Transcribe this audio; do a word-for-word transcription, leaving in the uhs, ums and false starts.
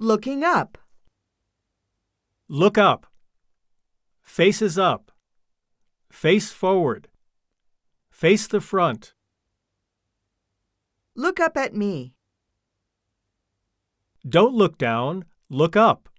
Looking up. Look up. Faces up. Face forward. Face the front. Look up at me. Don't look down, look up.